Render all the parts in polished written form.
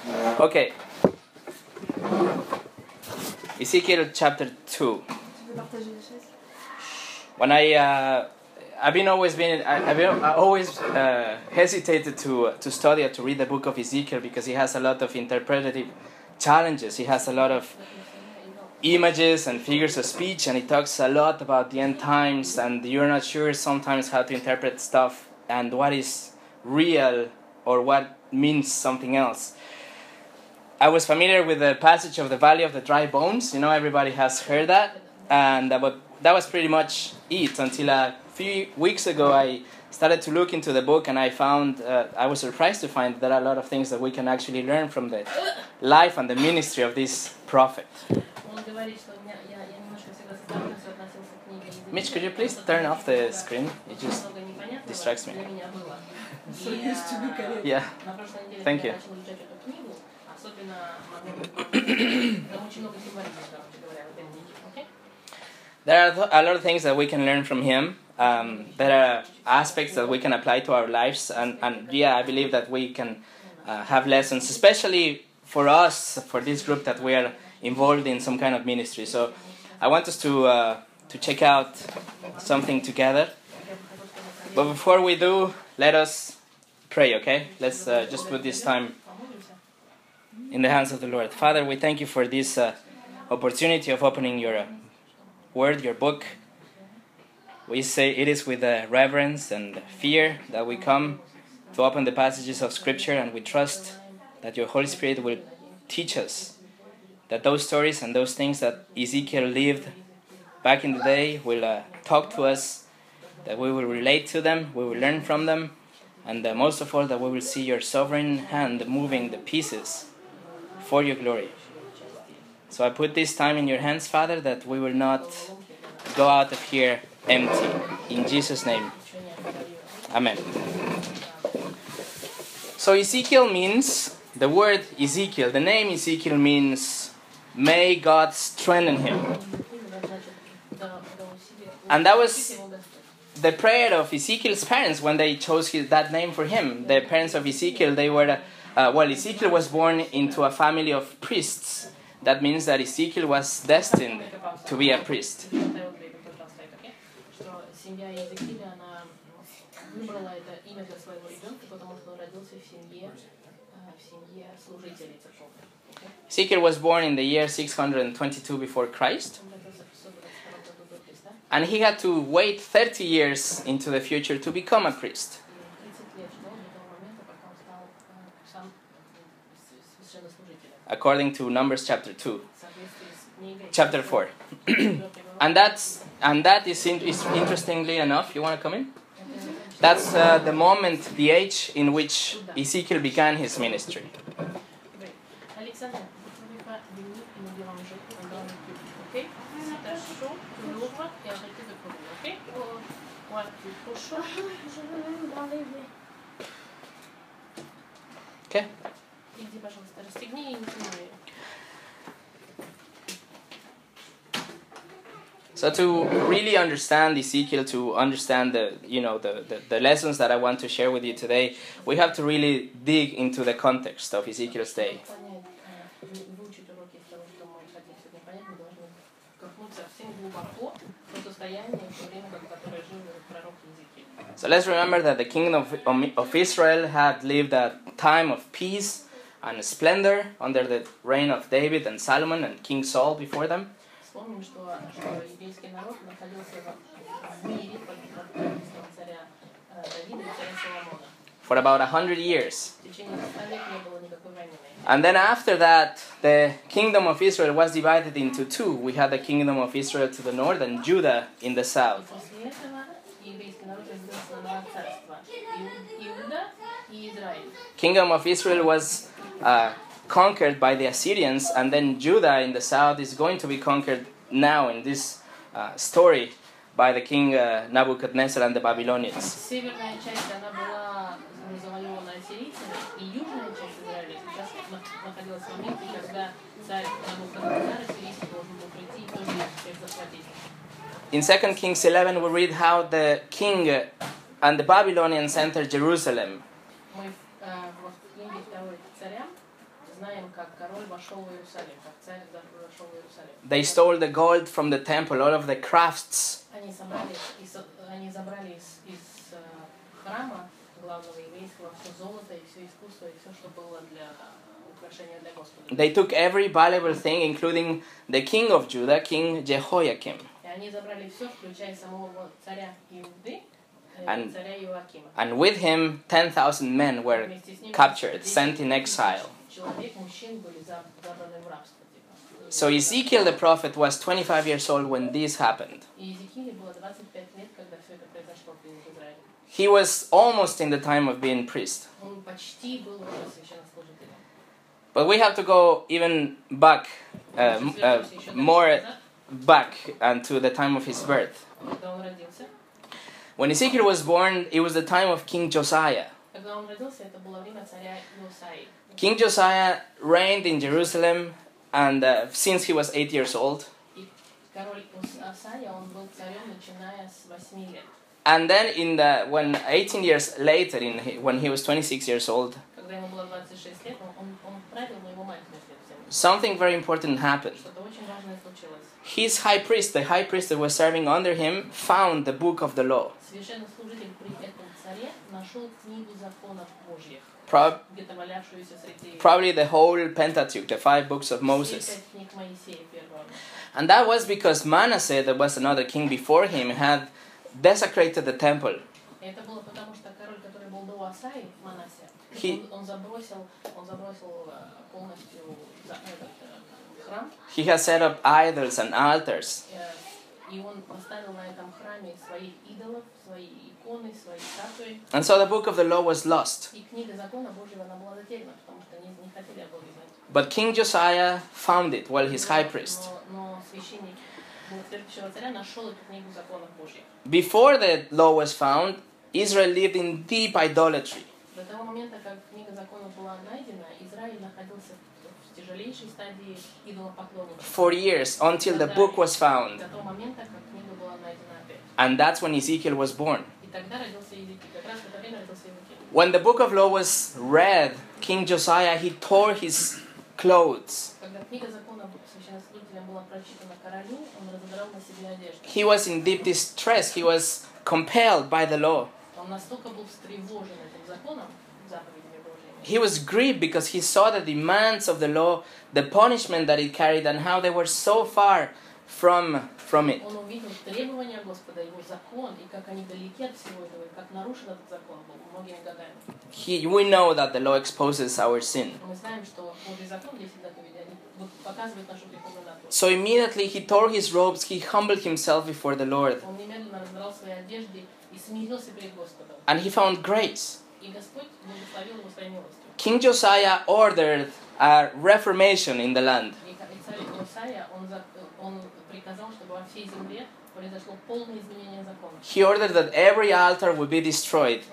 Okay. Ezekiel chapter 2. When I've always hesitated to study or to read the book of Ezekiel because he has a lot of interpretative challenges. He has a lot of images and figures of speech, and he talks a lot about the end times, and you're not sure sometimes how to interpret stuff and what is real or what means something else. I was familiar with the passage of the Valley of the Dry Bones. You know, everybody has heard that. And that was pretty much it until a few weeks ago I started to look into the book, and I was surprised to find there are a lot of things that we can actually learn from the life and the ministry of this prophet. Mitch, could you please turn off the screen? It just distracts me. So used to look at it. Yeah, thank you. There are a lot of things that we can learn from him. There are aspects that we can apply to our lives, and I believe that we can have lessons, especially for us, for this group that we are involved in some kind of ministry. So I want us to check out something together. But before we do, let us pray, okay? Let's just put this time in the hands of the Lord. Father, we thank you for this opportunity of opening your word, your book. We say it is with reverence and fear that we come to open the passages of Scripture, and we trust that your Holy Spirit will teach us, that those stories and those things that Ezekiel lived back in the day will talk to us, that we will relate to them, we will learn from them, and most of all that we will see your sovereign hand moving the pieces for your glory. So I put this time in your hands, Father, that we will not go out of here empty. In Jesus' name, Amen. So Ezekiel means, the word Ezekiel, the name Ezekiel means, may God strengthen him. And that was the prayer of Ezekiel's parents when they chose that name for him. The parents of Ezekiel, Ezekiel was born into a family of priests. That means that Ezekiel was destined to be a priest. Ezekiel was born in the year 622 before Christ. And he had to wait 30 years into the future to become a priest. According to Numbers chapter 4. and that is interestingly enough, you want to come in? That's the moment, the age in which Ezekiel began his ministry. Okay. So to really understand Ezekiel, to understand the lessons that I want to share with you today, we have to really dig into the context of Ezekiel's day. So let's remember that the kingdom of Israel had lived a time of peace and splendor under the reign of David and Solomon and King Saul before them. For about 100 years. And then after that, the kingdom of Israel was divided into two. We had the kingdom of Israel to the north and Judah in the south. Kingdom of Israel was conquered by the Assyrians, and then Judah in the south is going to be conquered now in this story by the king Nebuchadnezzar and the Babylonians. In 2 Kings 11 we read how the king and the Babylonians entered Jerusalem. They stole the gold from the temple, all of the crafts. They took every valuable thing, including the king of Judah, King Jehoiakim. And with him, 10,000 men were captured, sent in exile. So Ezekiel the prophet was 25 years old when this happened. He was almost in the time of being priest. But we have to go even back, more back to the time of his birth. When Ezekiel was born, it was the time of King Josiah. King Josiah reigned in Jerusalem, and since he was 8 years old. And then when 18 years later, when he was 26 years old, something very important happened. His high priest, the high priest that was serving under him, found the book of the law. Probably the whole Pentateuch, the 5 books of Moses. And that was because Manasseh, that was another king before him, had desecrated the temple. He has set up idols and altars. And so the book of the law was lost. But King Josiah found it while he's high priest. Before the law was found, Israel lived in deep idolatry. For years, until the book was found. And that's when Ezekiel was born. When the book of law was read, King Josiah, he tore his clothes. He was in deep distress. He was compelled by the law. He was grieved because he saw the demands of the law, the punishment that it carried, and how they were so far from it. We know that the law exposes our sin. So immediately he tore his robes, he humbled himself before the Lord. And he found grace. King Josiah ordered a reformation in the land. He ordered that every altar would be destroyed.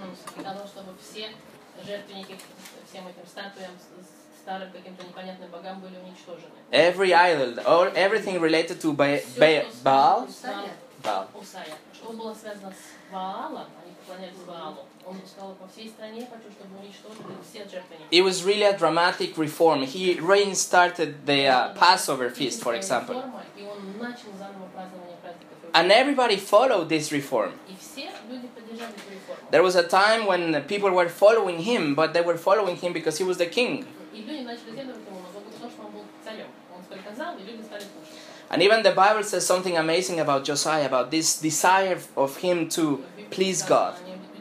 Every idol, everything related to Baal. It was really a dramatic reform. He restarted the Passover feast, for example. And everybody followed this reform. There was a time when people were following him, but they were following him because he was the king. And even the Bible says something amazing about Josiah, about this desire of him to please God.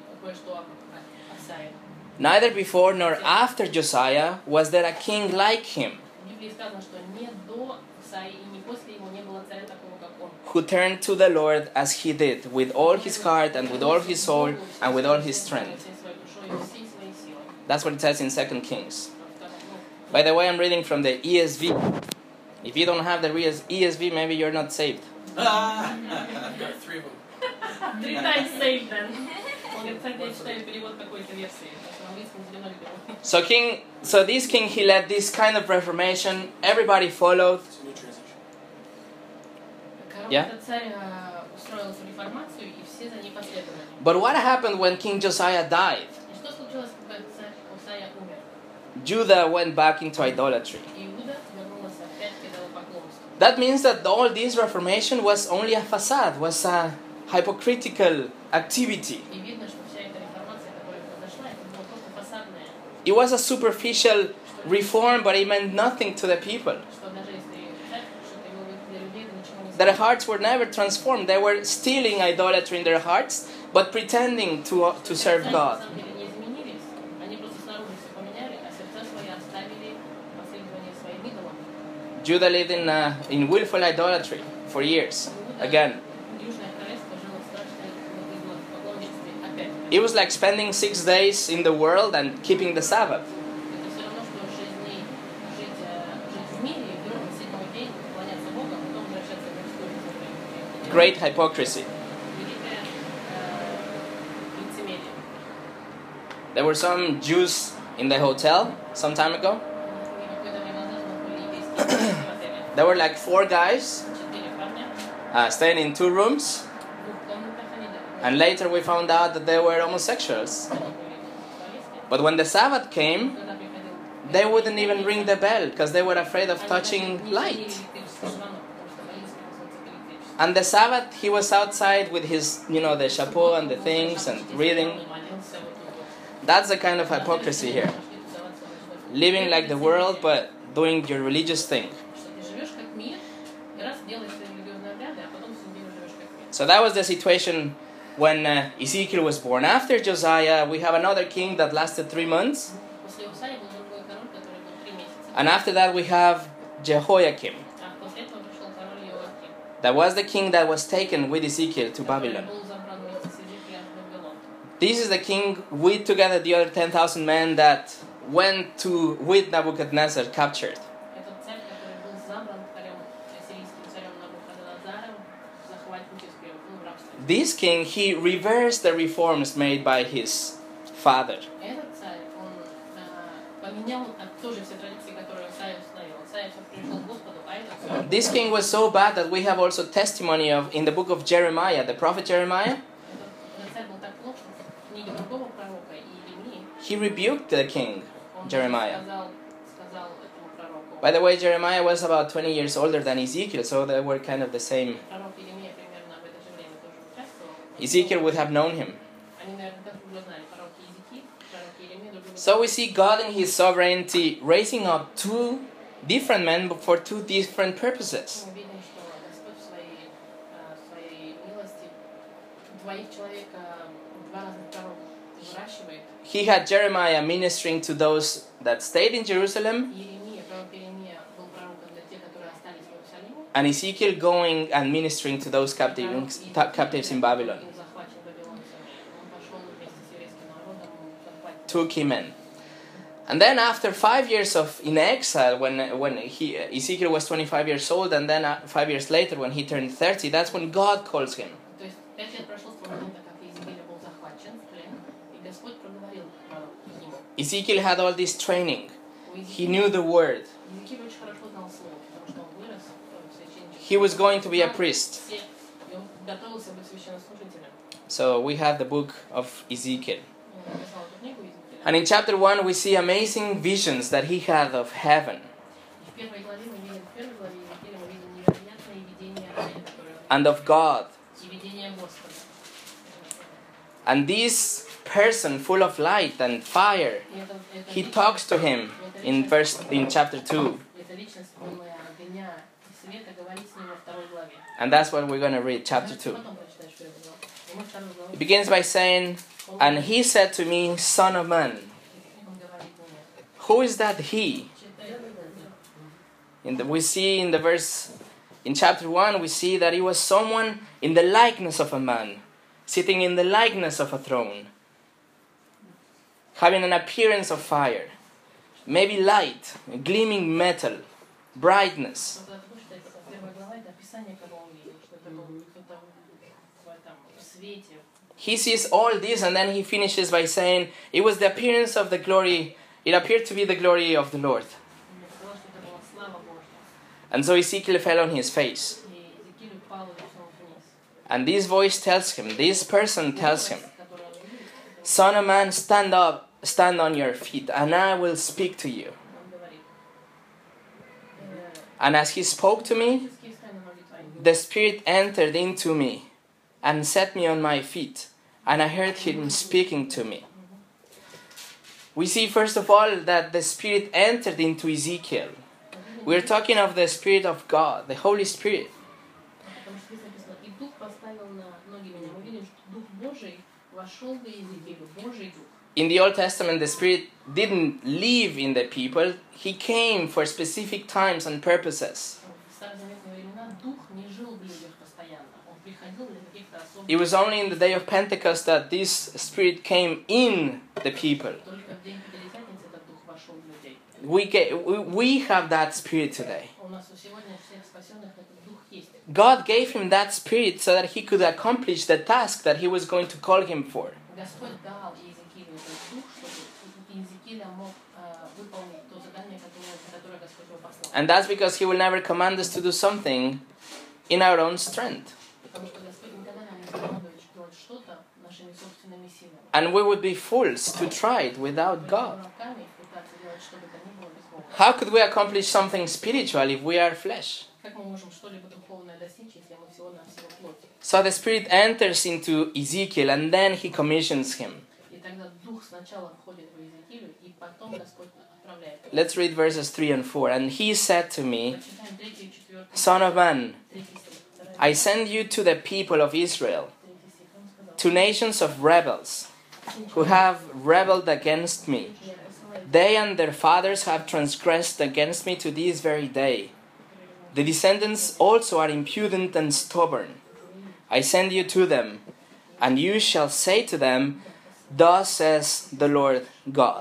Neither before nor after Josiah was there a king like him, who turned to the Lord as he did, with all his heart and with all his soul and with all his strength. That's what it says in 2 Kings. By the way, I'm reading from the ESV. If you don't have the ESV, maybe you're not saved. There are 3 of them. 3 times saved then. So this king, he led this kind of reformation. Everybody followed. It's a new transition. Yeah? But what happened when King Josiah died? Judah went back into idolatry. Иуда вернулась опять к идолопоклонству. That means that all this reformation was only a facade, was a hypocritical activity. И видно, что вся эта реформация, которая произошла, это было просто фасадное. It was a superficial reform, but it meant nothing to the people. Что даже если что-то было для людей, это ничего не Their значит. hearts were never transformed. They were still in idolatry in their hearts, but pretending to serve Сердца, God. на самом деле, не изменились. Они просто снаружи все поменяли, а сердца свои оставили последование своим идолам. Judah lived in willful idolatry for years. Again, Южное королевство жило в страшной идолопоклонничестве опять. it was like spending 6 days in the world and keeping the Sabbath. Это все равно, что 6 дней жить в мире, и вдруг на 7-й день поклоняться Богу, а потом возвращаться в мирскую жизнь. Great hypocrisy. Великое лицемерие. There were some Jews in the hotel some time ago. И какое-то время назад у нас были еврейские в отеле. There were like 4 guys 4 парня, staying in 2 rooms, в двух комнатах они and later we found out that they were homosexuals. были сексуалисты. But when the Sabbath came, Когда приходил they wouldn't even ring the bell because they were afraid of touching light. And the Sabbath, he was outside with his, the chapeau and the things and reading. That's the kind of hypocrisy here. Living like the world, but doing your religious thing. So that was the situation when Ezekiel was born. After Josiah, we have another king that lasted 3 months. And after that, we have Jehoiakim. That was the king that was taken with Ezekiel to Babylon. This is the king with together the other 10,000 men that went to with Nebuchadnezzar captured. This king, he reversed the reforms made by his father. This king was so bad that we have also testimony of in the book of Jeremiah, the prophet Jeremiah. He rebuked the king, Jeremiah. By the way, Jeremiah was about 20 years older than Ezekiel, so they were kind of the same. Ezekiel would have known him. So we see God in his sovereignty raising up 2 different men for 2 different purposes. He had Jeremiah ministering to those that stayed in Jerusalem, and Ezekiel going and ministering to those captives in Babylon. 2 key men. And then after 5 years in exile, when Ezekiel was 25 years old, and then 5 years later when he turned 30, that's when God calls him. Ezekiel had all this training. He knew the word. He was going to be a priest. So we have the book of Ezekiel. And in chapter 1 we see amazing visions that he had of heaven. And of God. And this person full of light and fire, he talks to him in chapter 2. And that's what we're going to read, chapter 2. It begins by saying, "And he said to me, Son of man." Who is that he? We see in the verse, in chapter 1, we see that he was someone in the likeness of a man, sitting in the likeness of a throne, having an appearance of fire, maybe light, gleaming metal, brightness. He sees all this, and then he finishes by saying, it was the appearance of the glory, it appeared to be the glory of the Lord. And so Ezekiel fell on his face. And this voice tells him, this person tells him, "Son of man, stand up stand on your feet, and I will speak to you. Он говорит, And as he spoke to me, «Физически встань на ноги твои». the Spirit entered into me and set me on my feet, and I heard him speaking to me. We see first of all that the Spirit entered into Ezekiel. We're talking of the Spirit of God, the Holy Spirit. Потому что здесь написано, и Дух поставил на ноги меня. Мы видим, что Дух Божий вошел в Иезекиилю, Божий Дух. In the Old Testament, the Spirit didn't live in the people. He came for specific times and purposes. В старозаветные времена Дух не жил в людях постоянно. Он приходил для каких-то особых... It was only in the day of Pentecost that this Spirit came in the people. Только в день Пятидесятницы этот Дух вошел в людей. We have that Spirit today. У нас сегодня всех спасенных этот Дух есть. God gave him that Spirit so that he could accomplish the task that he was going to call him for. Господь дал Иезекиилю этот Дух, чтобы Иезекииля мог выполнить то задание, которое Господь ему послал. And that's because he will never command us to do something in our own strength. Потому что Господь никогда нам не командует делать что-то нашими собственными силами. And we would be fools to try it without God. Руками пытаться делать что бы то ни было без Бога. How could we accomplish something spiritual if we are flesh? Как мы можем что-либо духовное достичь, если мы всего-навсего плоть? So the Spirit enters into Ezekiel and then he commissions him. И тогда Дух сначала входит в Иезекиилю, и потом Господь отправляет. Let's read verses 3 and 4. And he said to me, Прочитаем 3 и 4. Son of man, 3 стих. I send you to the people of Israel, 3 стих. Он сказал, to nations of rebels, who have rebelled against me. я посылаю They and their fathers have transgressed against me to this very day. The descendants also are impudent and stubborn. I send you to them, and you shall say to them, Thus says the Lord God.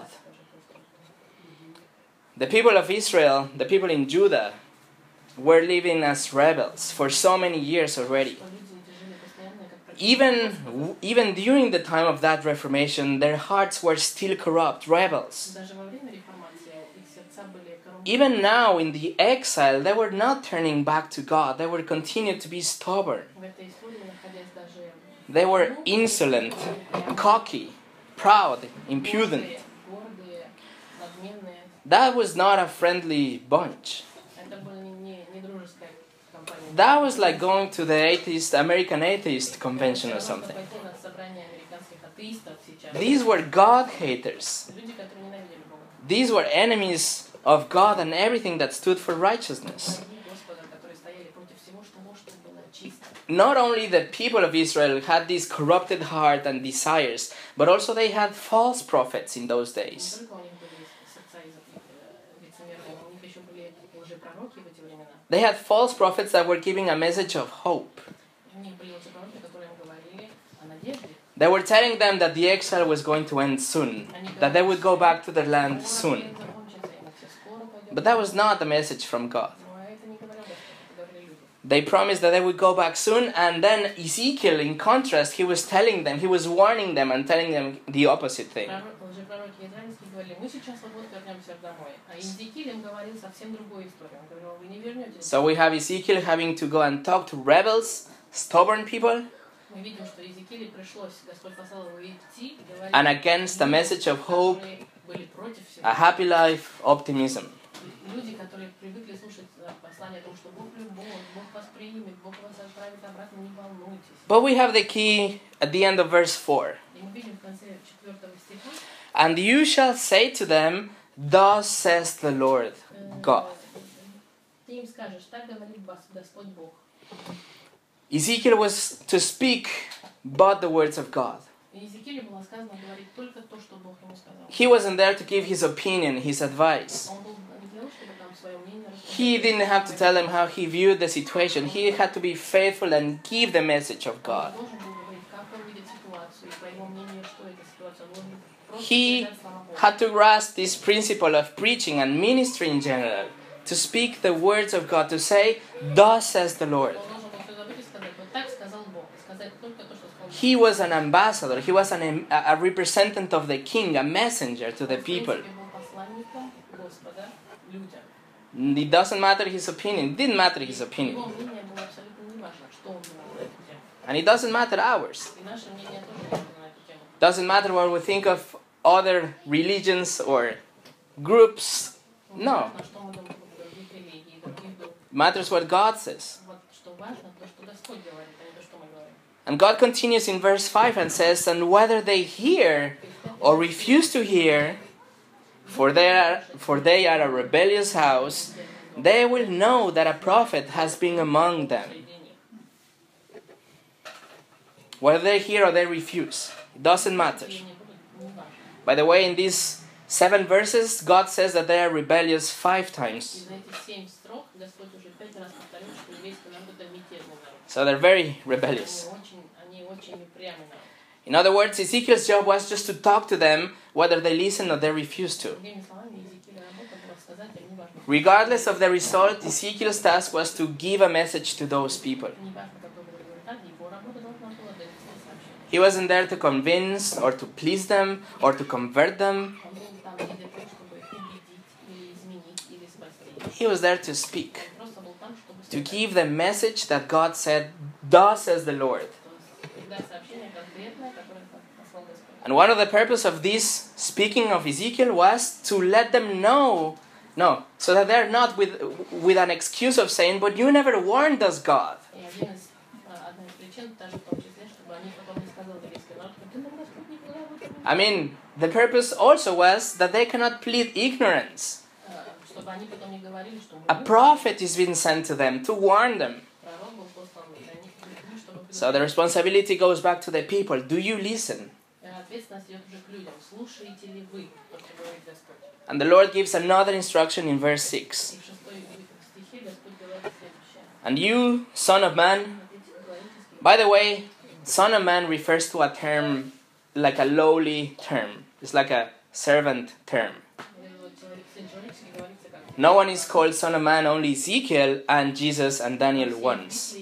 The people of Israel, the people in Judah, were living as rebels for so many years already. что люди эти жили постоянно, как противники. Even during the time of that Reformation, their hearts were still corrupt, rebels. Даже во время реформации их сердца были коррумпированы. Even now in the exile, they were not turning back to God. They were continued to be stubborn. В этой истории, находясь даже They were insolent, cocky, proud, impudent. гордые, надменные. That was not a friendly bunch. Это была не дружеская компания. That was like going to the American Atheist Convention or something. Пойти на собрание американских атеистов сейчас. These were God haters. Люди, которые ненавидели Бога. These were enemies of God and everything that stood for righteousness. Враги Господа, которые стояли против всего, что было чисто. Not only the people of Israel had this corrupted heart and desires, but also they had false prophets in those Не days. только у них были сердца лицемерные, у них еще были лжепророки в эти времена. They had false prophets that were giving a message of hope. У них были лжепророки, которые им говорили о надежде. They were telling them that the exile was going to end soon, that they would go back to their land soon. Закончится, и мы все скоро пойдем. But that was not the message from God. Но это не говорил Господь, это говорили люди. They promised that they would go back soon, and then Ezekiel, in contrast, he was telling them, he was warning them and telling them the opposite thing. Лжепророки израильские говорили, мы сейчас вот вернемся домой. А Иезекииль им говорил совсем другую историю. Он говорил, вы не вернетесь. So we have Ezekiel having to go and talk to rebels, stubborn people, Мы видим, что Иезекиилю пришлось, Господь послал его идти и говорить, and against the message of hope, которые были против всего. a happy life, optimism. Люди, которые привыкли слушать послание о том, что Бог любовь, Бог вас примет, Бог вас отправит обратно, не волнуйтесь. But we have the key at the end of verse 4. И мы видим в конце 4 стиха, And you shall say to them, Thus says the Lord God. ты им скажешь, так говорит Господь Бог. Ezekiel was to speak but the words of God. Иезекиилю было сказано говорить только то, что Бог ему сказал. He wasn't there to give his opinion, his advice. Он был не для того, чтобы там свое мнение рассказать. He didn't have to tell them how he viewed the situation. He had to be faithful and give the message of Он God. должен был говорить, как он видит ситуацию, и по его мнению, что эта ситуация. Он должен просто He передать слова Бога. had to grasp this principle of preaching and ministry in general, to speak the words of God, to say, Thus says the Lord. Он должен был все забыть и сказать, вот так сказал Бог. И сказать только то, что сказал Бог. He was an ambassador. He was a representative of the king, a messenger to the Он, в people. принципе, был посланником Господа людям. It doesn't matter his opinion. It didn't matter his opinion. Его мнение было абсолютно неважно, что он думал на эту тему. And it doesn't matter ours. И наше мнение тоже не важно на эту тему. Doesn't matter what we think of other religions or groups. No. Важно, что мы думаем по поводу других религий, других групп. It matters what God says. Вот что важно, то, что Господь говорит, а не то, что мы говорим. And God continues in verse 5 and says, "And whether they hear or refuse to hear, for they are a rebellious house, they will know that a prophet has been among them." Whether they hear or they refuse, it doesn't matter. By the way, in these 7 verses, God says that they are rebellious 5 times. So they're very rebellious. In other words, Ezekiel's job was just to talk to them whether they listen or they refuse to. Regardless of the result, Ezekiel's task was to give a message to those people. He wasn't there to convince or to please them or to convert them. He was there to speak, to give the message that God said, "Thus says the Lord." And one of the purposes of this speaking of Ezekiel was to let them know, so that they're not with an excuse of saying, "But you never warned us, God." I mean, the purpose also was that they cannot plead ignorance. A prophet is being sent to them to warn them. So the responsibility goes back to the people. Do you listen? And the Lord gives another instruction in verse 6. "And you, son of man," by the way, son of man refers to a term like a lowly term. It's like a servant term. No one is called son of man, only Ezekiel and Jesus and Daniel once.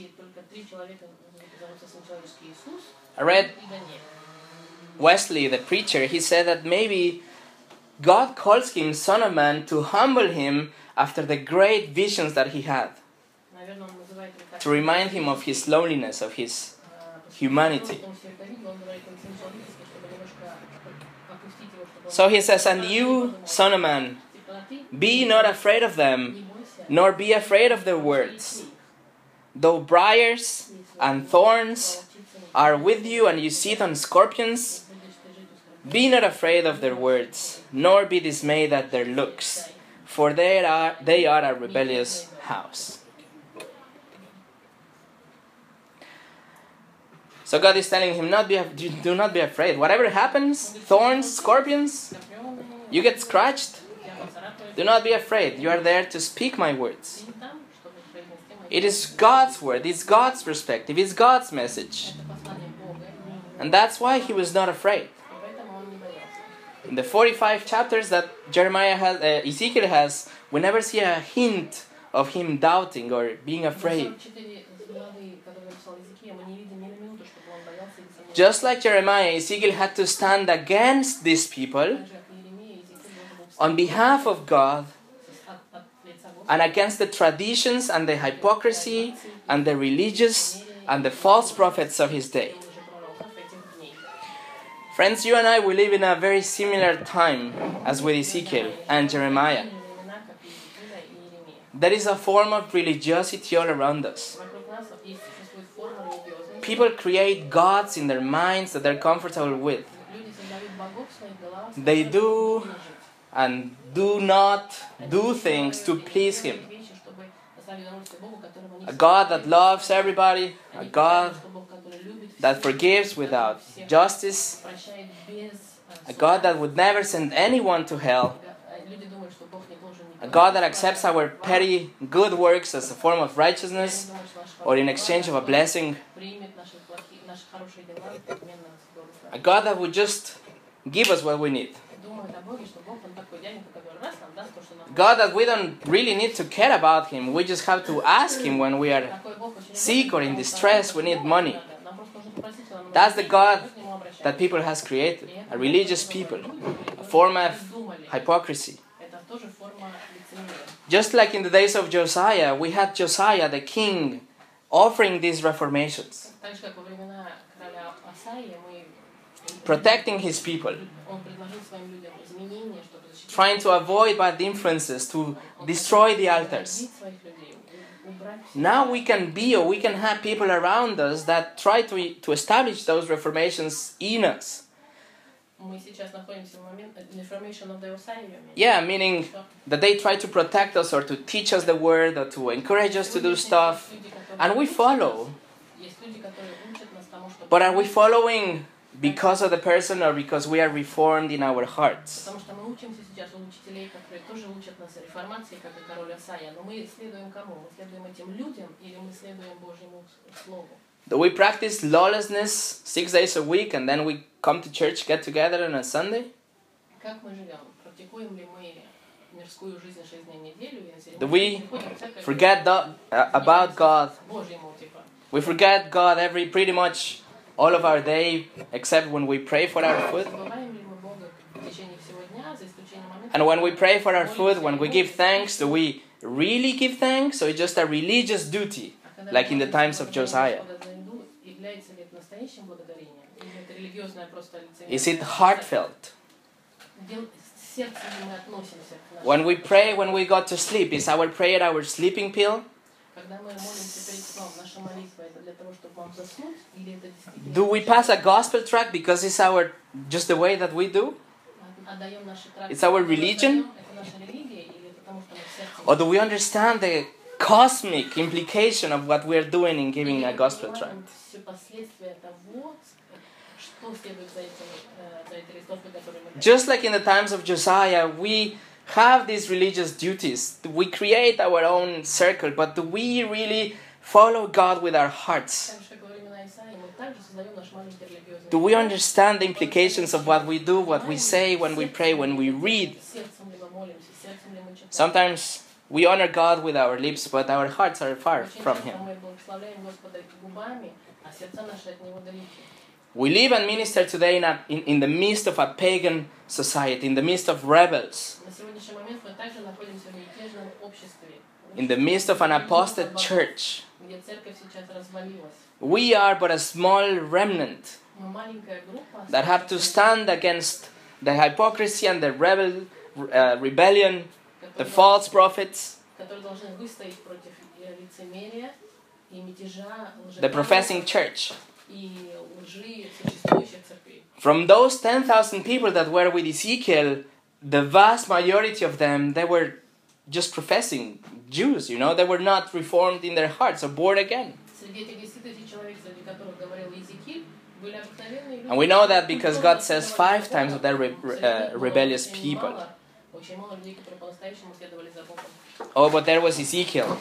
I read Wesley, the preacher, he said that maybe God calls him son of man to humble him after the great visions that he had, to remind him of his loneliness, of his humanity. So he says, "And you, son of man, be not afraid of them, nor be afraid of their words. Though briars and thorns are with you, and you sit on scorpions, be not afraid of their words, nor be dismayed at their looks, for they are a rebellious house." So God is telling him, do not be afraid. Whatever happens, thorns, scorpions, you get scratched, do not be afraid. You are there to speak my words. It is God's word, it's God's perspective, it's God's message. And that's why he was not afraid. In the 45 chapters that Ezekiel has, we never see a hint of him doubting or being afraid. Just like Jeremiah, Ezekiel had to stand against these people on behalf of God and against the traditions and the hypocrisy and the religious and the false prophets of his day. Friends, you and I, we live in a very similar time as with Ezekiel and Jeremiah. There is a form of religiosity all around us. People create gods in their minds that they're comfortable with. They do and do not do things to please Him. A God that loves everybody, a God that forgives without justice, a God that would never send anyone to hell, a God that accepts our petty good works as a form of righteousness or in exchange of a blessing, a God that would just give us what we need. God that we don't really need to care about Him. We just have to ask Him when we are sick or in distress, we need money. That's the God that people has created. A religious people. A form of hypocrisy. Just like in the days of Josiah, we had Josiah, the king, offering these reformations. protecting his people, Он предложил своим людям изменения, чтобы защитить trying to avoid bad influences, to destroy the altars. своих людей, убрать все. Now we can be, or we can have people around us that try to establish those reformations in us. Мы сейчас находимся в момент information of the assignment. Yeah, meaning that they try to protect us or to teach us the word or to encourage us to do stuff, and we follow. Есть люди, которые учат нас тому, что But are we following because of the person or because we are reformed in our hearts? потому что мы учимся сейчас у учителей, которые тоже учат нас реформации, как и король Асая, но мы следуем кому? Мы следуем этим людям или мы следуем Божьему Слову? Do we practice lawlessness 6 days a week and then we come to church, get together on a Sunday? Как мы живем? Практикуем ли мы мирскую жизнь 6 дней в неделю? Do we forget about God? Божьему, типа. We forget God pretty much all of our day, except when we pray for our food. Забываем ли мы Бога в течение всего дня, за исключением момента? And when we pray for our food, when we give thanks, do we really give thanks, or is it just a religious duty, like in the times of Josiah? Является ли это настоящим благодарением? Или это религиозное просто лицемерие? Is it heartfelt? С сердцем ли мы относимся к нашему? When we pray, when we go to sleep, is our prayer our sleeping pill? Когда мы молимся перед сном, наша молитва это для того, чтобы вам заснуть, или это действительно? Do we pass a gospel tract because it's just the way that we do? Отдаем наши тракты? It's our religion? Это наша религия, или потому что мы в сердце? Or do we understand the cosmic implication of what we are doing in giving a gospel tract? Все последствия того, что следует за этой листовкой, которую мы. Just like in the times of Josiah, we have these religious duties. We create our own circle, but do we really follow God with our hearts? Так же, как во времена Исаии, мы также создаем наш маленький религиозный. Do we understand the implications of what we do, what we say, when we pray, when we read? Сердцем ли мы молимся, сердцем ли мы читаем? Sometimes we honor God with our lips, but our hearts are far Очень from часто Him. мы благословляем Господа губами, а сердца наши от Него далеки. We live and minister today in the midst of a pagan society, in the midst of rebels, На сегодняшний момент мы также находимся в мятежном обществе, in the midst of an apostate church. где церковь сейчас развалилась. We are but a small remnant Мы маленькая группа, that have to stand against the hypocrisy and the rebellion, the false prophets, которые должны выстоять против лицемерия и мятежа, the professing church. и лжи существующих церквей. From those 10,000 people that were with Ezekiel, the vast majority of them, they were just professing Jews, they were not reformed in their hearts or born again. Среди этих 10 тысяч человек, среди которых говорил Иезекииль, были обыкновенные люди. And we know that because God says 5 times of their rebellious people. Очень мало людей, которые по-настоящему следовали за Богом. Oh, but there was Ezekiel.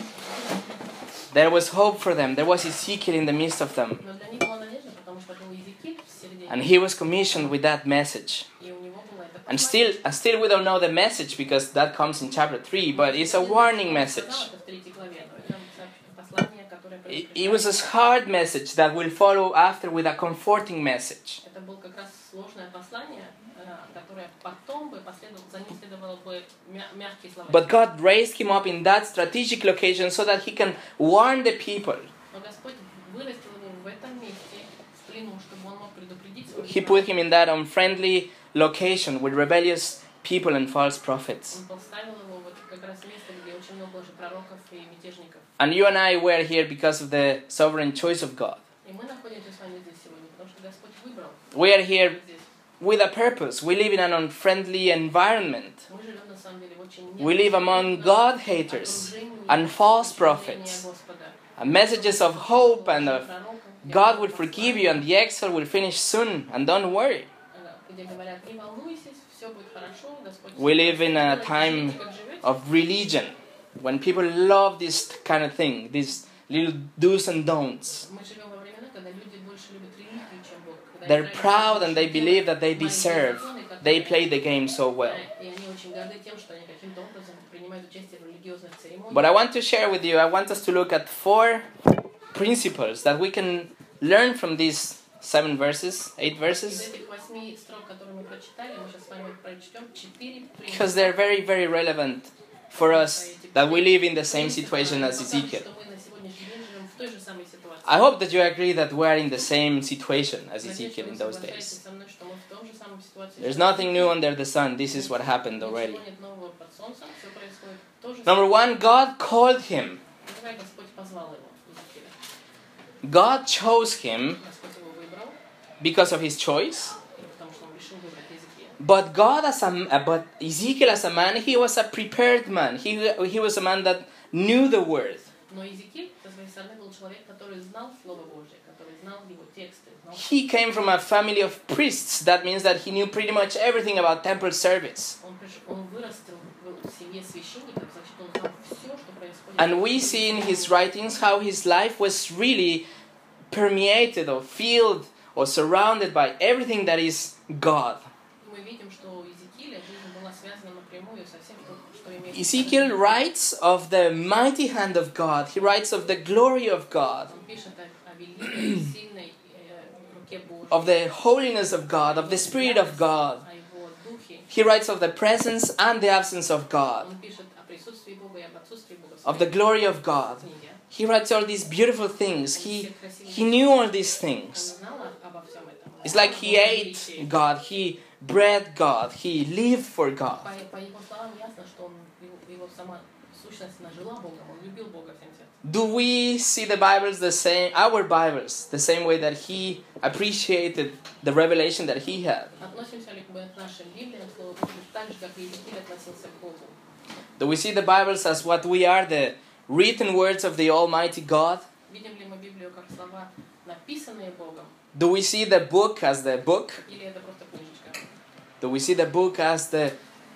There was hope for them. There was Ezekiel in the midst of them. Но для них была надежда, потому что был Иезекииль в середине. And he was commissioned with that message. И у него было это And still we don't know the message because that comes in chapter 3, but it's a warning message. в 3 главе, но это послание, которое It was a hard message that will follow after with a comforting message. Это было как раз сложное послание, которое потом бы последовало, за ним следовало бы мягкие слова. But God raised him up in that strategic location so that he can warn the people. Но Господь вырастил его в этом месте, в плену, чтобы он мог предупредить своих He put him in that unfriendly location with rebellious people and false prophets. Он поставил его вот как раз место, где очень много уже пророков и мятежников. And you and I were here because of the sovereign choice of God. И мы находимся с вами здесь сегодня, потому что Господь выбрал. We are here Здесь. with a purpose. We live in an unfriendly environment. Мы живем на самом деле в очень We live among God haters and false prophets. And messages of hope and of God will forgive you and the exile will finish soon and don't worry. We live in a time of religion when people love this kind of thing, these little do's and don'ts. They're proud and they believe that they deserve. They play the game so well. But I want to share with you, I want us to look at 4 principles that we can learn from these 7 verses, 8 verses. Because they're very, very relevant for us that we live in the same situation as Ezekiel. в той же самой ситуации. I hope that you agree that we are in the same situation as Надеюсь, что Ezekiel вы in those соглашаетесь days. со мной, что мы в той же самой ситуации. There's nothing new under the sun. This is what happened already. Ничего нет нового под солнцем, все происходит то же Number самое. one, God called him. Давай Господь позвал его, Иезекииля. God chose him Господь его выбрал, because of his choice. потому что он решил выбрать Иезекииля. But Ezekiel as a man, he was a prepared man. He was a man that knew the word. Но Иезекииль, со своей стороны, был человек, который знал Слово Божие, который знал его тексты. Знал... He came from a family of priests. That means that he knew pretty much everything about temple service. Он вырастил в семье священников, значит, он знал все, что происходит. And we see in his writings how his life was really permeated or filled or surrounded by everything that is God. Мы видим, что у Иезекииля жизнь была связана напрямую со всем, что имеет... Ezekiel writes of the mighty hand of God. He writes of the glory of God, Он пишет о великой, сильной руке Божьей, of the holiness of God, of the Spirit of God. о его духе. He writes of the presence and the absence of God, Он пишет о присутствии Бога и об отсутствии Бога в of the своей glory of God. книге. He writes all these beautiful things. He knew all these Он things. знал обо всем этом. It's like he ate God, he bred God, he lived for God. По его словам ясно, что он, его сама сущность, она жила Богом, он любил Бога всем сердцем. Do we see the Bibles the same, our Bibles, the same way that he appreciated the revelation that he had? Относимся ли мы к нашим Библиям, Слову Божию, так же, как Иезекииль относился к Богу? Do we see the Bibles as what we are, the written words of the Almighty God? Видим ли мы Библию как слова, написанные Богом, Do we see the book as the book? или это просто книжечка? Do we see the book as the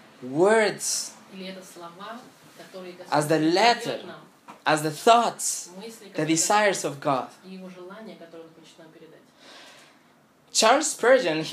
words, Или это слова, которые as the letter, дает нам, as the thoughts, мысли, the которые desires of God? и его желания, которые он хочет нам передать? Charles Spurgeon,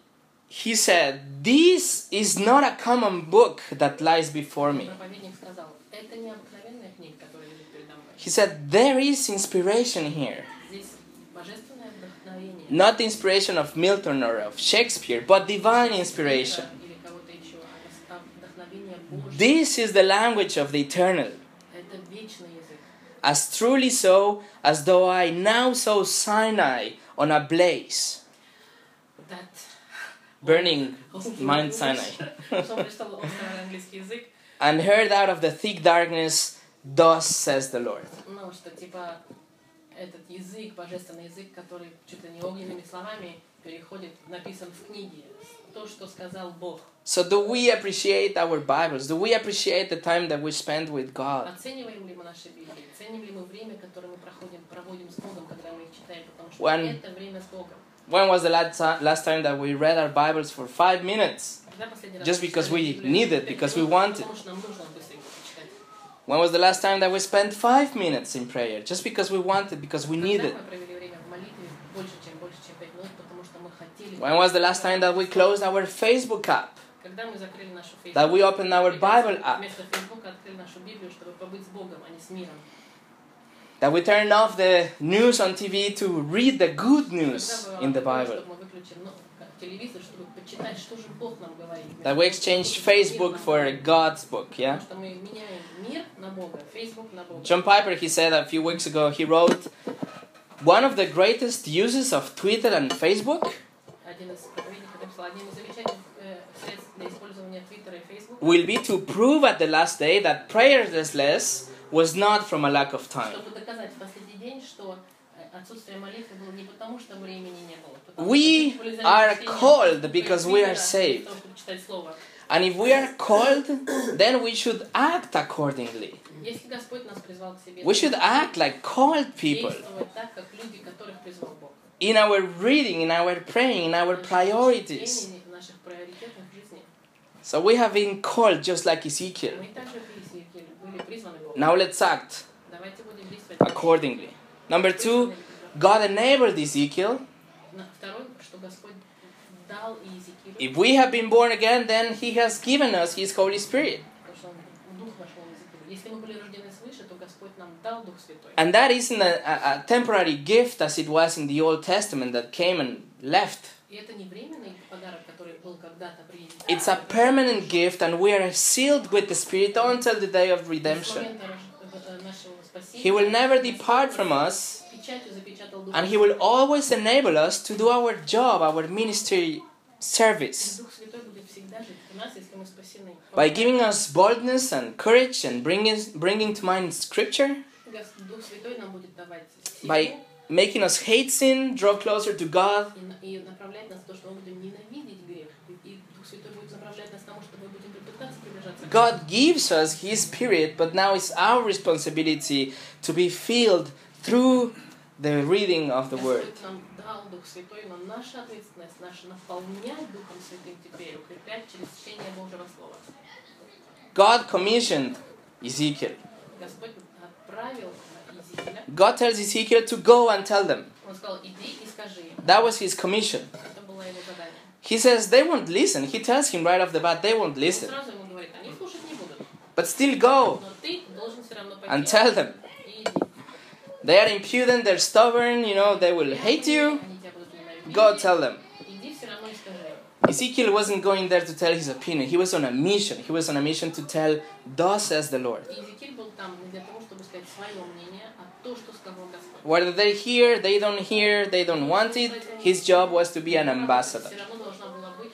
he said, "This is not a common book that lies before me." Проповедник сказал, это не обыкновенная книга, которая лежит передо мной. He said, "There is inspiration here. Здесь божественное вдохновение. Not the inspiration of Milton or of Shakespeare, but divine inspiration. Или кого-то еще, а вдохновение Божье. This is the language of the eternal. Это вечный язык. As truly so as though I now saw Sinai on a blaze, That burning Mount Sinai, Что он прочитал острый английский язык, and heard out of the thick darkness, thus says the Lord. ну, что типа этот язык, божественный язык, который чуть ли не огненными словами переходит, написан в книге. То, что сказал Бог. So do we appreciate our Bibles? Do we appreciate the time that we spend with God? Оцениваем ли мы наши Библии? Ценим ли мы время, которое мы проводим с Богом, когда мы их читаем? Потому что это время с Богом. When was the last time that we read our Bibles for 5 minutes? Когда последний раз Just мы because читали we Библию? need it, because we want it. Потому что нам нужно быстренько почитать. When was the last time that we spent 5 minutes in prayer? Just because we want it, because we need Когда it. мы провели время в молитве больше, чем 5 минут, потому что мы хотели. When was the last time that we closed our Facebook app? Когда мы закрыли нашу Facebook, That we opened our Bible app? вместо Фейсбука открыли нашу Библию, чтобы побыть с Богом, а не с миром. That we turned off the news on TV to read the good news in the Bible? Чтобы мы выключили телевизор, чтобы почитать, что же Бог нам говорит. That we exchanged Facebook for God's book, yeah? Потому что мы меняем мир на Бога, Facebook на Бога. John Piper, he said a few weeks ago, he wrote, one of the greatest uses of Twitter and Facebook Один из проповедников написал, одним из замечательных средств для использования Твиттера и Фейсбука, will be to prove at the last day that prayerlessness was not from a lack of time. чтобы доказать в последний день, что отсутствие молитвы было не потому, что времени не было. Потому We что были are заняты called чтением because we are Твиттера, saved. для того, чтобы читать Слово. And if we are called, then we should act accordingly. Если Господь нас призвал к себе, We should act like called people. действовать так, как люди, которых призвал Бог. In our reading, in our praying, in our priorities. В наших приоритетах в жизни. So we have been called just like Ezekiel. Мы также были призваны Богом. Now let's act Давайте будем действовать accordingly. Number 2, God enabled Ezekiel. Второе, что Господь дал Иезекиилю, If we have been born again, then He has given us His Holy Spirit. потому что Дух вошел в Иезекииля. Если мы были рождены свыше, то Господь нам дал Дух Святой. And that isn't a temporary gift as it was in the Old Testament that came and left. И это не временный подарок, который был когда-то принят. It's a permanent gift, and we are sealed with the Spirit until the day of С redemption. момента нашего спасения He will never depart from us, печатью запечатал Дух and He will always enable us to do our job, our ministry service, Дух Святой будет всегда жить в нас, если мы спасены. by giving us boldness and courage and bringing to mind Scripture, Дух Святой нам будет давать by силу making us hate sin, draw closer to God. и направлять нас в то, что мы будем ненавидеть грех. И Дух Святой будет направлять нас к тому, что мы будем пытаться приближаться к Нему. God gives us His Spirit, but now it's our responsibility to be filled through the reading of the Word. Господь нам дал Дух Святой, но наша ответственность, наша наполнять Духом Святым теперь, укреплять через чтение Божьего Слова. God commissioned Ezekiel. Господь отправил Иезекииля. God tells Ezekiel to go and tell them. Он сказал, иди и скажи им. That was his commission. Это было его задание. He says they won't listen. He tells him right off the bat they won't Он listen. сразу ему говорит, они слушать не будут. But still go Но ты должен все равно and пойти tell them. и иди. They are impudent, they're stubborn, they will hate you. Они тебя будут ненавидеть. Go tell them. Иди все равно и скажи им. Ezekiel wasn't going there to tell his opinion. He was on a mission. He was on a mission to tell, thus says the Lord. Иезекииль был там не для того, чтобы сказать свое мнение, а то, что сказал Господь. Whether they hear, they don't want it, his job was to be an ambassador. Все равно должна была быть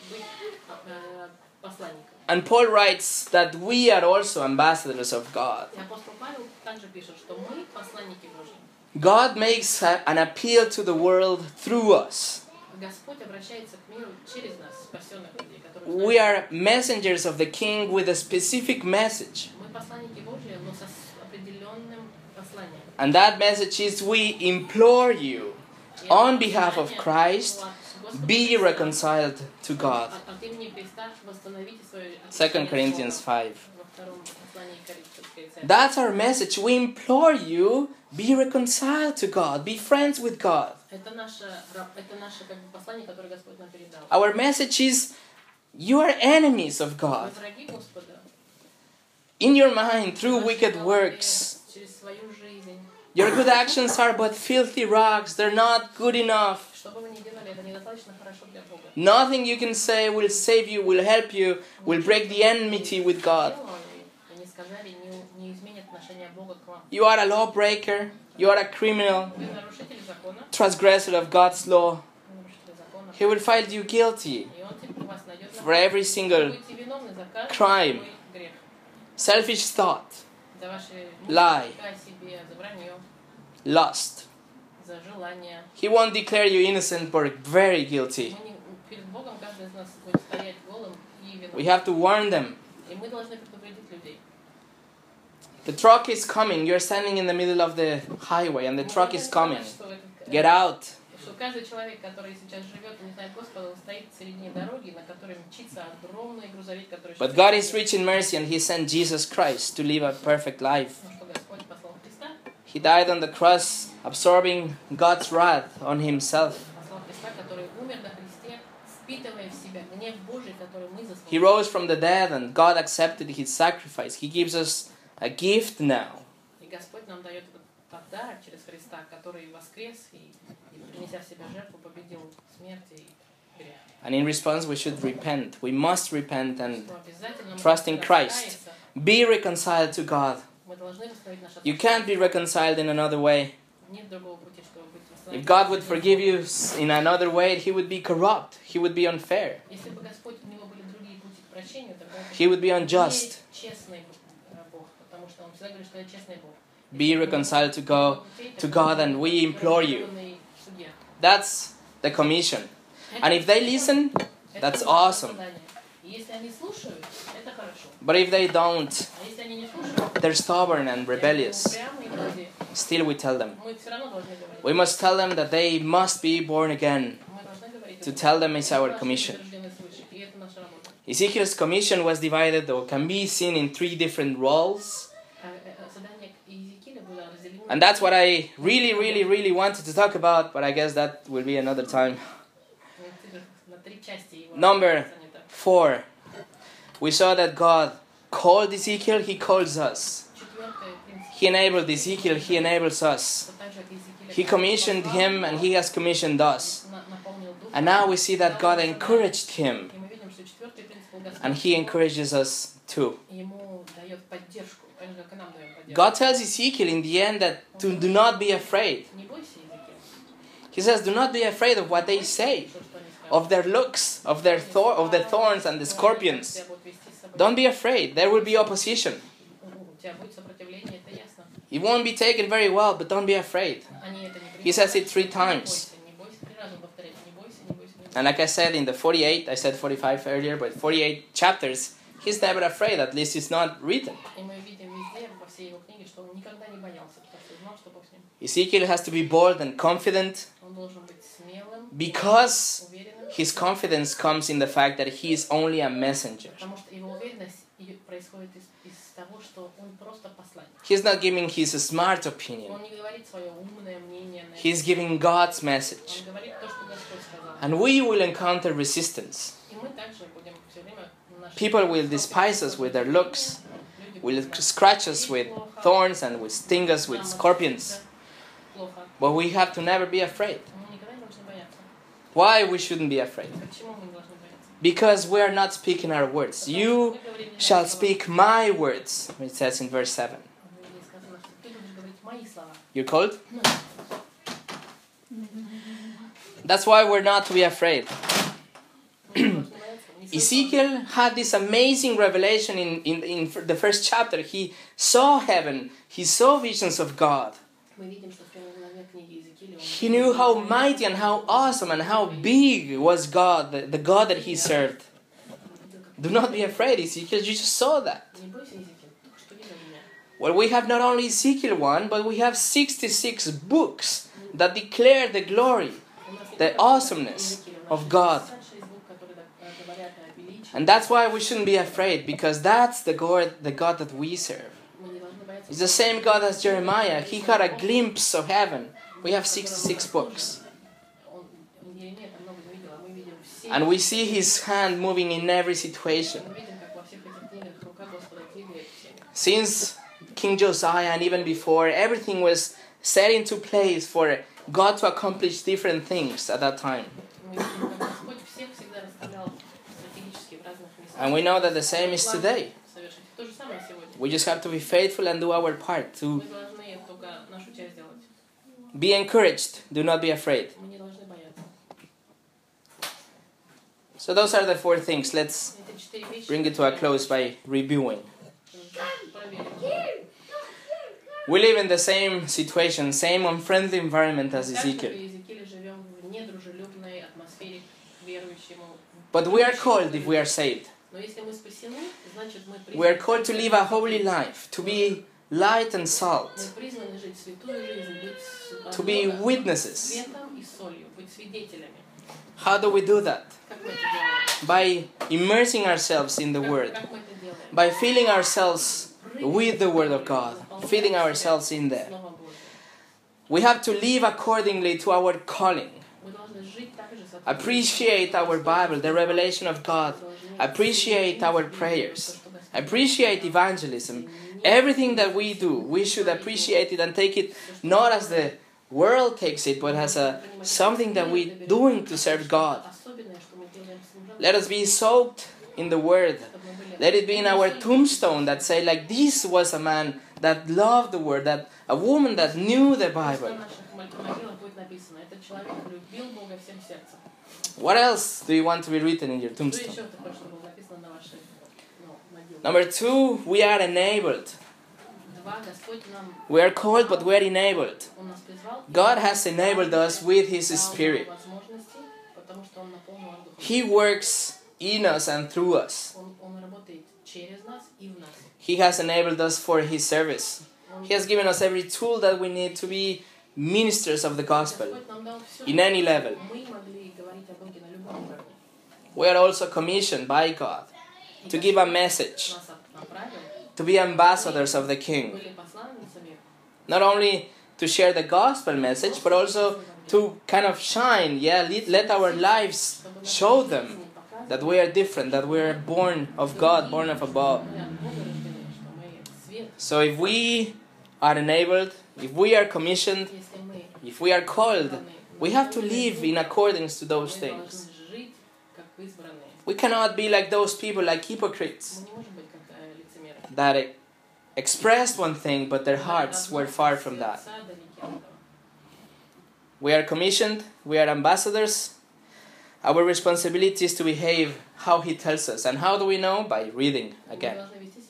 посланником. And Paul writes that we are also ambassadors of God. И апостол Павел также пишет, что мы посланники Божьи. God makes an appeal to the world through us. Господь обращается к миру через нас, спасенных людей, которые We are messengers of the King with a specific message. мы посланники Божьи, но с определенным посланием. And that message is we implore you, on behalf of Christ, be reconciled to God. От имени Христа восстановите свое 2 Corinthians 5. во втором послании Коринфянской церкви. That's our message. We implore you, be reconciled to God, be friends with God. Это наше как бы послание, которое Господь нам передал. Our message is, you are enemies of Мы God. враги Господа. In your mind, through Нашей wicked голове, works. через свою жизнь. Your good actions are but filthy rags. They're not good enough. Что бы вы ни делали, это недостаточно хорошо для Бога. Nothing you can say will save you, will help you, will break the enmity with God. Они сказали, не изменят отношение Бога к вам. You are a lawbreaker. You are a criminal, Вы нарушитель закона, transgressor of God's law. нарушитель закона. He will find you guilty И он теперь вас найдет for every Вы single будете виновны за каждый crime. свой грех. selfish thought, За ваши Lie. мысли о себе, за вранье, lust. за желание. He won't declare you innocent but very guilty. Мы перед Богом каждый из нас будет стоять голым и We виновным. have to warn them. И мы должны предупредить людей. The truck is coming. You're standing in the middle of the highway and the Мы truck должны is coming. сказать, что этот, Get out. что каждый человек, который сейчас живет и не знает Господа, он стоит в середине дороги, на которой мчится огромный грузовик, который... But God is rich in mercy and He sent Jesus Christ to live a perfect life. Ну, что Господь послал Христа, He died on the cross, absorbing God's wrath on Himself. послал Христа, который умер на кресте, впитывая в себя гнев Божий, который мы заслужили. He rose from the dead and God accepted His sacrifice. He gives us a gift now. И Господь нам дает этот подарок через Христа, который воскрес и принеся в себя жертву, победил смерть и грех. And in response we should repent. We must repent and Что обязательно мы trust in должны Christ. раскаяться. be reconciled to God. Мы должны восстановить наше You can't be reconciled in another way. Нет другого пути, чтобы быть восстановленным. If God would forgive you in another way, He would be corrupt. He would be unfair. Если бы Господь, у него были другие пути к прощению, тогда это He would be unjust. честный Бог, потому что Он всегда говорит, что я честный Бог. Be reconciled to God and we implore you. That's the commission. And if they listen, that's awesome. Если они слушают, это хорошо. But if they don't, А если они не слушают, they're stubborn and rebellious. упрямые люди, Still we tell them. мы все равно должны говорить. We must tell them that they must be born again. Мы должны говорить. To tell them is our commission. И это наша работа. Ezekiel's commission was divided or can be seen in 3 different roles. Задание Иезекииля было разделено. And that's what I really wanted to talk about, but I guess that will be another time. На 3 части его. Number занято. 4. We saw that God called Ezekiel, He calls us. Четвертый принцип. He enabled Ezekiel, He enables us. Так же, как Иезекииля, He commissioned him and He has commissioned us. наполнил дух. And now we see that God encouraged him И мы видим, что четвертый принцип был Господь. and He encourages us too. Ему дает поддержку, так же, как и нам даем поддержку. God tells Ezekiel in the end that to do not be afraid. Не бойся, Иезекииль. He says, do not be afraid of what they say, То, что они скажут. of their looks, of the thorns and the scorpions. Тебя будут вести с собой. Don't be afraid. There will be opposition. У тебя будет сопротивление, это ясно. It won't be taken very well, but don't be afraid. Они это не He says it 3 times. Не бойся, 3 раза повторяет. Не бойся, не бойся, не бойся. And like I said in the 48, I said 45 earlier, but 48 chapters, he's never afraid. At least it's not written. И мы видим везде, во всей его книге, что он никогда не боялся, потому что знал, что Бог с ним. Ezekiel has to be bold and confident Он должен быть смелым, because уверенным, his confidence comes in the fact that he is only a messenger. потому что его уверенность происходит из того, что он просто посланник. He's not giving his smart opinion. Он не говорит свое умное мнение, He's giving God's message. он говорит то, что Господь сказал. And we will encounter resistance. И мы также будем все время People will despise us with their looks, will scratch us with thorns and will sting us with scorpions. But we have to never be afraid. Мы никогда не должны бояться. Why we shouldn't be afraid? Почему мы не должны бояться? Because we are not speaking our words. You shall speak my words, it says in verse 7. Сказано, что ты будешь говорить мои слова. You're cold? That's why we're not to be afraid. Ezekiel had this amazing revelation in the first chapter. He saw heaven. He saw visions of God. He knew how mighty and how awesome and how big was God, the God that he served. Do not be afraid, Ezekiel. You just saw that. Well, we have not only Ezekiel 1, but we have 66 books that declare the glory, the awesomeness of God. And that's why we shouldn't be afraid, because that's the God that we serve. It's the same God as Jeremiah. He had a glimpse of heaven. We have 66 books. And we see his hand moving in every situation. Since King Josiah and even before, everything was set into place for God to accomplish different things at that time. And we know that the same is today. We just have to be faithful and do our part to be encouraged. Do not be afraid. So those are the 4 things. Let's bring it to a close by reviewing. We live in the same situation, same unfriendly environment as Ezekiel. But we are called if we are saved. We are called to live a holy life, to be light and salt, to be witnesses. How do we do that? By immersing ourselves in the Word, by filling ourselves with the Word of God, filling ourselves in there. We have to live accordingly to our calling. Appreciate our Bible, the revelation of God. Appreciate our prayers. Appreciate evangelism. Everything that we do, we should appreciate it and take it not as the world takes it, but as something that we're doing to serve God. Let us be soaked in the Word. Let it be in our tombstone that say, like, this was a man that loved the Word, that a woman that knew the Bible. What else do you want to be written in your tombstone? Number 2, we are enabled. We are called, but we are enabled. God has enabled us with His Spirit. He works in us and through us. He has enabled us for His service. He has given us every tool that we need to be ministers of the gospel in any level. We are also commissioned by God to give a message, to be ambassadors of the King. Not only to share the gospel message, but also to kind of shine, let our lives show them that we are different, that we are born of God, born of above. So if we are enabled, if we are commissioned, if we are called, we have to live in accordance to those things. We cannot be like those people, like hypocrites, that expressed one thing, but their hearts were far from that. We are commissioned, we are ambassadors. Our responsibility is to behave how He tells us. And how do we know? By reading again.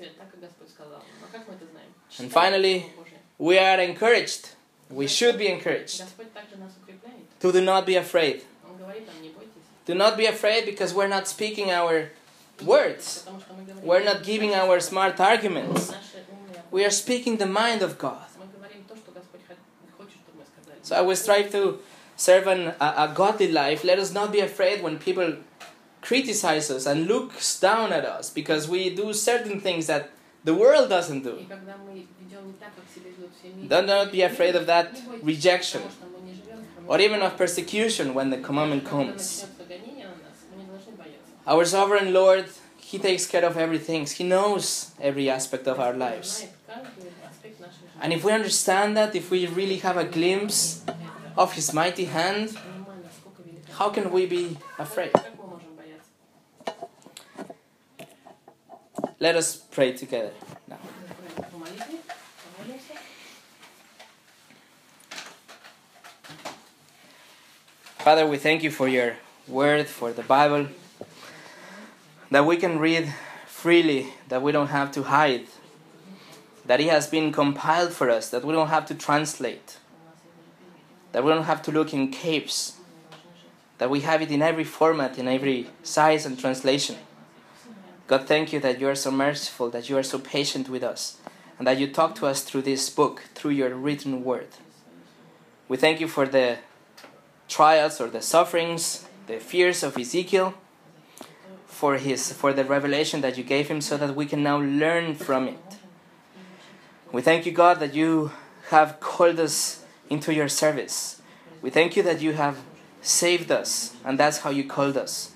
And finally, we are encouraged. We should be encouraged to do not be afraid. Do not be afraid because we're not speaking our words. We're not giving our smart arguments. We are speaking the mind of God. So I will strive to serve a godly life. Let us not be afraid when people criticize us and looks down at us because we do certain things that the world doesn't do. Do not be afraid of that rejection or even of persecution when the commandment comes. Our sovereign Lord, He takes care of everything. He knows every aspect of our lives. And if we understand that, if we really have a glimpse of His mighty hand, how can we be afraid? Let us pray together now. Father, we thank You for Your word, for the Bible, that we can read freely, that we don't have to hide, that it has been compiled for us, that we don't have to translate, that we don't have to look in caves, that we have it in every format, in every size and translation. God, thank You that You are so merciful, that You are so patient with us, and that You talk to us through this book, through Your written word. We thank You for the trials or the sufferings, the fears of Ezekiel, for the revelation that You gave him so that we can now learn from it. We thank You, God, that You have called us into Your service. We thank You that You have saved us, and that's how You called us.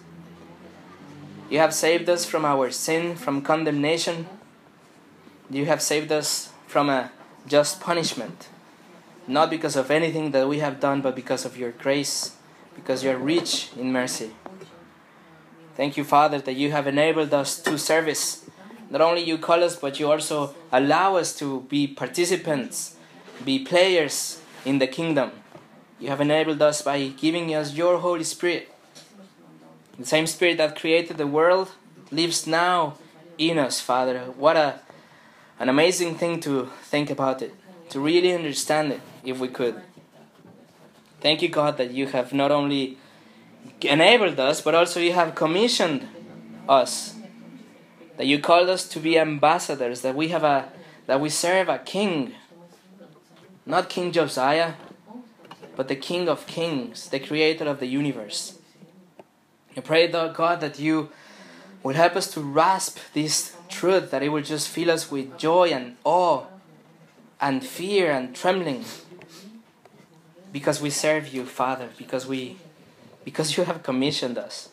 You have saved us from our sin, from condemnation. You have saved us from a just punishment, not because of anything that we have done, but because of Your grace, because You are rich in mercy. Thank You, Father, that You have enabled us to service. Not only You call us, but You also allow us to be participants, be players in the kingdom. You have enabled us by giving us Your Holy Spirit. The same Spirit that created the world lives now in us, Father. What an amazing thing to think about it, to really understand it, if we could. Thank You, God, that You have not only enabled us, but also You have commissioned us. That You called us to be ambassadors, that we serve a king, not King Josiah, but the King of Kings, the Creator of the universe. I pray, God, that You will help us to grasp this truth, that it will just fill us with joy and awe and fear and trembling, because we serve You, Father, because You have commissioned us.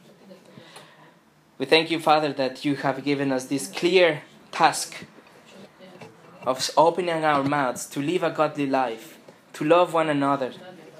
We thank You, Father, that You have given us this clear task of opening our mouths to live a godly life, to love one another.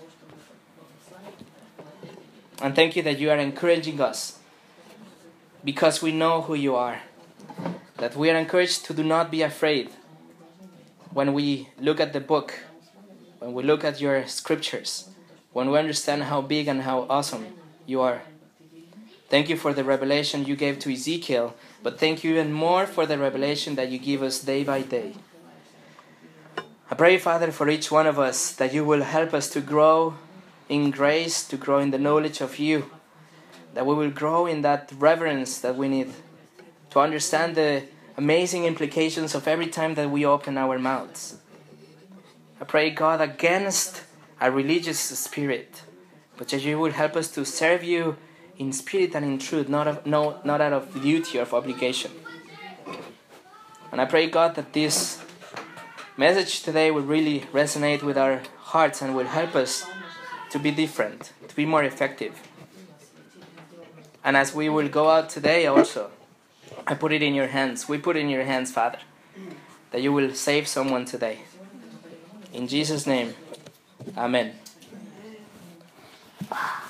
And thank You that You are encouraging us because we know who You are. That we are encouraged to do not be afraid when we look at the book, when we look at Your scriptures, when we understand how big and how awesome You are. Thank You for the revelation You gave to Ezekiel, but thank You even more for the revelation that You give us day by day. I pray, Father, for each one of us, that You will help us to grow in grace, to grow in the knowledge of You, that we will grow in that reverence that we need to understand the amazing implications of every time that we open our mouths. I pray, God, against a religious spirit, but that You will help us to serve You in spirit and in truth, not out of duty or of obligation. And I pray, God, that this message today will really resonate with our hearts and will help us to be different, to be more effective. And as we will go out today also, I put it in Your hands. We put it in Your hands, Father, that You will save someone today. In Jesus' name, Amen.